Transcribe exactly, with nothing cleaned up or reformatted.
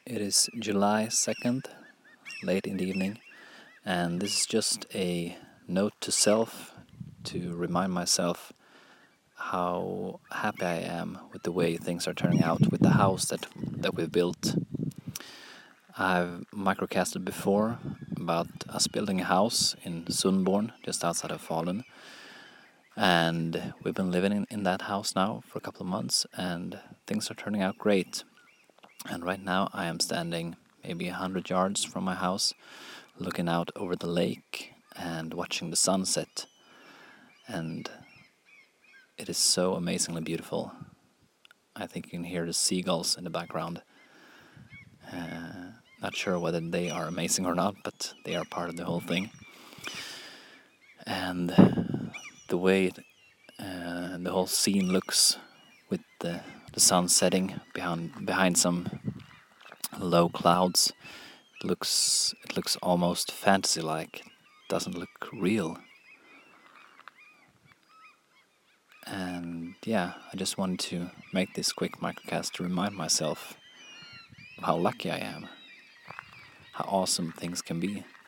It is July second, late in the evening, and this is just a note to self to remind myself how happy I am with the way things are turning out with the house that that we've built. I've microcasted before about us building a house in Sundborn, just outside of Falun, and we've been living in, in that house now for a couple of months, and things are turning out great. And right now I am standing maybe a hundred yards from my house, looking out over the lake and watching the sunset. And it is so amazingly beautiful. I think you can hear the seagulls in the background. Uh, not sure whether they are amazing or not, but they are part of the whole thing. And the way it, uh, the whole scene looks with the, the sun setting behind behind some low clouds, it looks it looks almost fantasy-like. It doesn't look real. And yeah, I just wanted to make this quick microcast to remind myself of how lucky I am, how awesome things can be.